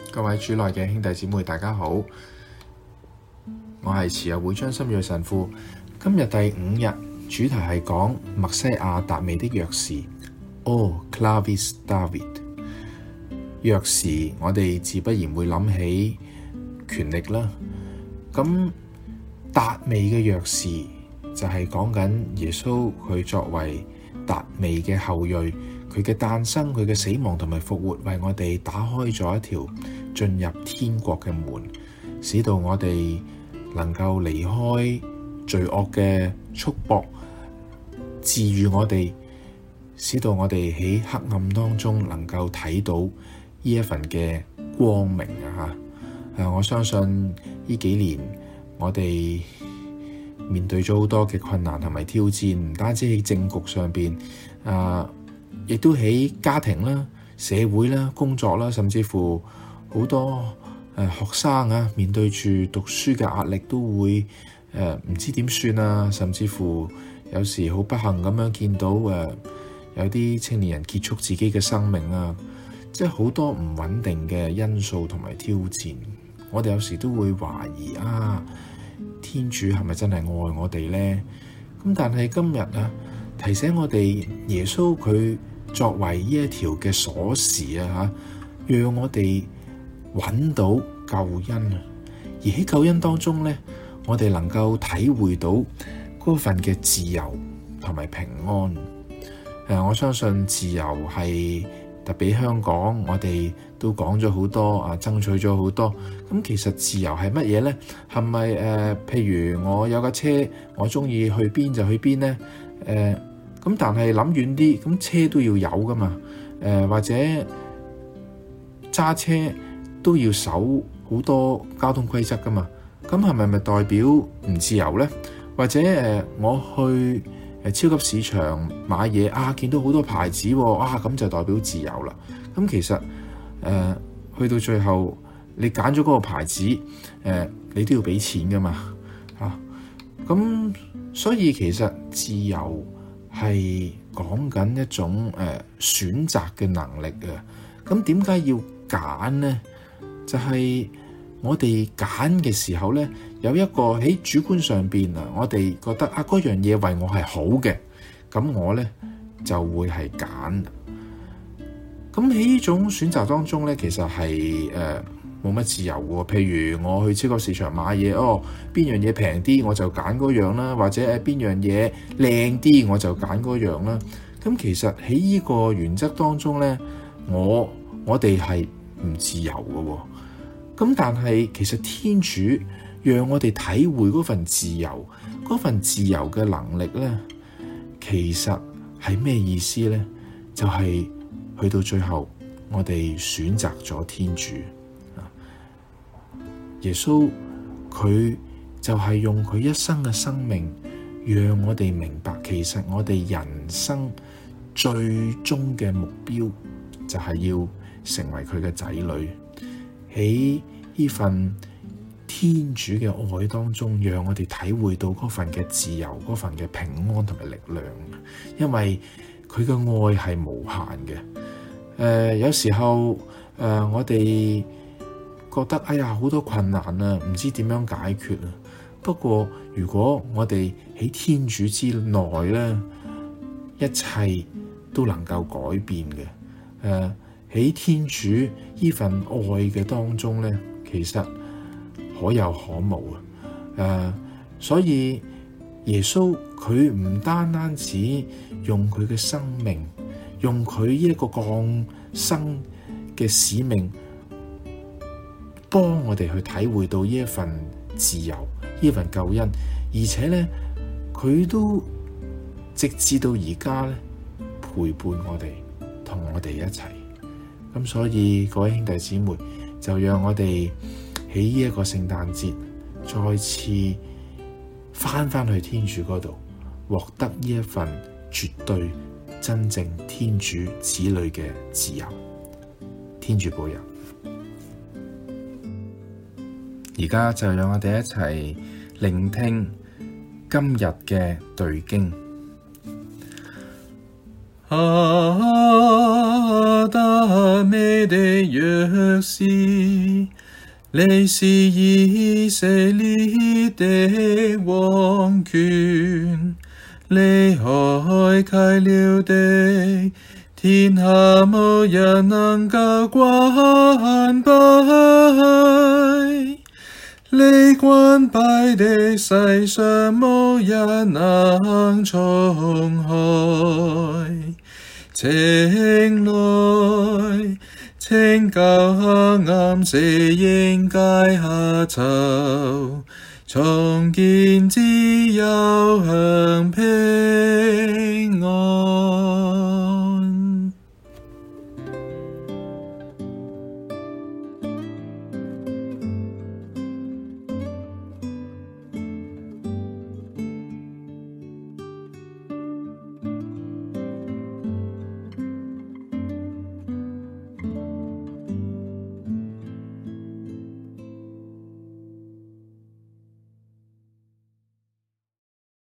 各位主內嘅兄弟姊妹，大家好，我係慈幼會張心銳神父。今日第5日，主題係講默西亞達味的鑰匙。O Clavis David， 鑰匙我哋自不然會諗起權力啦。咁達味嘅鑰匙就係講緊耶穌佢作為達味嘅後裔，佢嘅誕生、佢嘅死亡同埋復活，為我哋打開咗一條進入天國嘅門，使到我哋能夠離開罪惡嘅束縛，治癒我哋，使到我哋喺黑暗當中能夠睇到呢一份嘅光明啊！我相信呢幾年我哋面對咗好多嘅困難同埋挑戰，唔單止喺政局上邊，亦都喺家庭啦、社會啦、工作啦，甚至乎好多學生啊，面對住讀書嘅壓力，都會唔知點算啊，甚至乎有時好不幸咁樣見到有啲青年人結束自己嘅生命啊，即係好多唔穩定嘅因素同埋挑戰。我哋有時都會懷疑天主係咪真係愛我哋呢？咁但係今日提醒我哋，耶穌佢作為呢一條嘅鎖匙讓我哋揾到救恩。而喺救恩當中呢，我哋能夠體會到嗰份嘅自由同埋平安。我相信自由係特別香港，我哋都講咗好多爭取咗好多。咁其實自由係乜嘢呢？係咪譬如我有架車，我中意去邊就去邊呢？咁但係諗遠啲，咁車都要有噶嘛？或者揸車都要守好多交通規則噶嘛？咁係咪代表唔自由呢？或者我去超級市場買嘢見到好多牌子咁就代表自由啦。咁其實去到最後，你揀咗嗰個牌子，你都要俾錢噶嘛。咁所以其實自由係講緊一種選擇嘅能力啊。咁點解要揀呢？就係我哋揀嘅時候呢，有一個喺主觀上邊我哋覺得嗰樣嘢為我係好嘅，咁我呢就會係揀。咁喺呢種選擇當中呢，其實係冇乜自由喎。譬如我去超級市場買嘢，邊樣嘢平啲我就揀嗰樣啦，或者邊樣嘢靚啲我就揀嗰樣啦。咁其實喺呢個原則當中呢，我哋係唔自由嘅喎。咁但係其實天主讓我哋體會嗰份自由嘅能力呢，其實係咩意思呢？就係去到最後，我哋選擇咗天主。耶穌佢就係用佢一生嘅生命，讓我哋明白，其實我哋人生最終嘅目標就係要成為佢嘅仔女。喺呢份天主嘅愛當中，讓我哋體會到嗰份嘅自由，嗰份嘅平安同埋力量。因為佢嘅愛係無限嘅。有時候我哋覺得好多困難唔知點樣解決。不過如果我哋喺天主之內呢，一切都能夠改變嘅。喺天主呢份愛嘅當中呢，其實可有可無。所以耶穌佢唔單止用佢嘅生命，用佢呢一個降生嘅使命，幫我哋去體會到呢一份自由，呢一份救恩，而且呢，佢都直至到而家呢，陪伴我哋，同我哋一齊。咁所以各位兄弟姊妹，就讓我哋喺呢一個聖誕節再次翻去天主嗰度，獲得呢一份絕對真正天主子女嘅自由。天主保佑。而家就讓我哋一齊聆聽今日嘅對經。 亞達味的約誓，你是以色列的王權，你開啟了地，天下無人能夠關閉。你關閉的世上無人能重開。請來拯救黑暗，死蔭階下囚，重建自由，向平